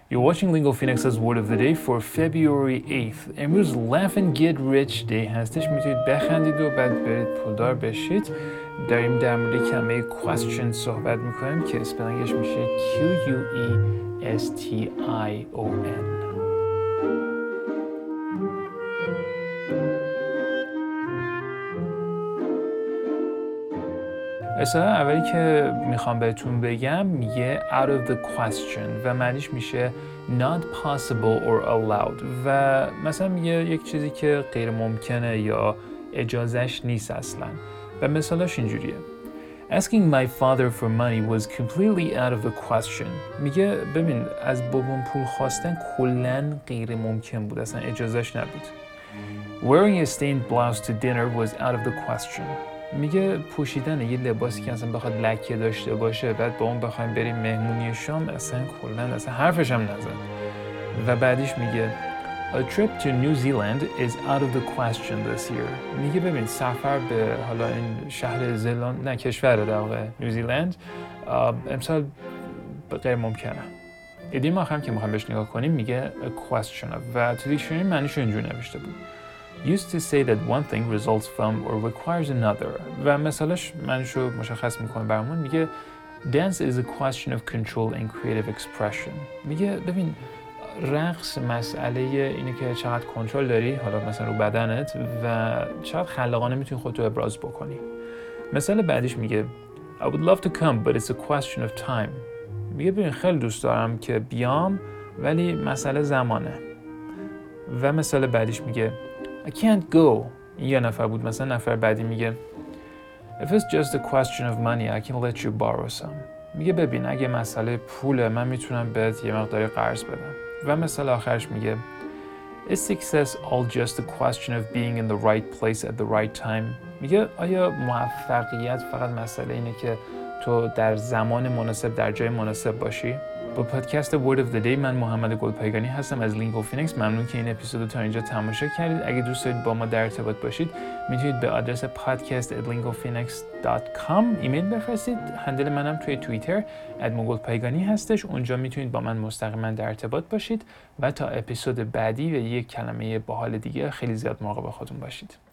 You're watching Lingo Phoenix's Word of the Day for February 8th. امروز Laugh and Get Rich Day هستش. میتونید بخندید و بعد برید پولدار بشید. داریم در مورد کلمه question صحبت میکنیم که اسپلنگش میشه Q-U-E-S-T-I-O-N. اصطلاح اولی که میخوام بهتون بگم میگه out of the question و معنیش میشه not possible or allowed و مثلا میگه یک چیزی که غیر ممکنه یا اجازهش نیست اصلا و مثالاش اینجوریه Asking my father for money was completely out of the question. میگه ببین از بابام پول خواستن کلاً غیر ممکن بود اصلا اجازهش نبود. Wearing a stained blouse to dinner was out of the question. میگه پوشیدن یه لباسی که اصلا بخواد لکه داشته باشه بعد با اون بخوایم بریم مهمونی شام اصلا کلاً اصلا حرفش هم نزن. و بعدیش میگه A trip to New Zealand is out of the question this year. میگه ببین سفر به حالا این شهر زلاند نه کشور در واقع نیوزیلند امسال غیر ممکنه. ایدیم آخرم که میخوام بهش نگاه کنیم میگه a question و تو دیکشنری معنیش اینجوری نوشته بود. Used to say that one thing results from or requires another و مثالش معنیشو مشخص میکنه برامون میگه Dance is a question of control and creative expression. میگه ببین رقص مسئله اینه که چقدر کنترل داری حالا مثلا رو بدنت و چقدر خلاقانه میتونی خودتو ابراز بکنی. مثال بعدیش میگه I would love to come but it's a question of time. میگه ببین خیلی دوست دارم که بیام ولی مسئله زمانه. و مثال بعدیش میگه I can't go. این یه نفر بود. مثلا نفر بعدی میگه If it's just a question of money I can let you borrow some. میگه ببین اگه مسئله پوله من میتونم بهت یه مقداری قرض بدم. و مثال آخرش میگه Is success all just a question of being in the right place at the right time? میگه آیا موفقیت فقط مسئله اینه که تو در زمان مناسب در جای مناسب باشی؟ با پادکست Word of the Day من محمد گلپایگانی هستم از لینگو فینیکس. ممنون که این اپیزودو تا اینجا تماشا کردید. اگه دوست دارید با ما در ارتباط باشید میتونید به آدرس podcast@lingophoenix.com ایمیل بفرستید. هندل منم توی توییتر @گلپایگانی هستش. اونجا میتونید با من مستقیما در ارتباط باشید و تا اپیزود بعدی و یک کلمه باحال دیگه خیلی زیاد مراقب خودتون باشید.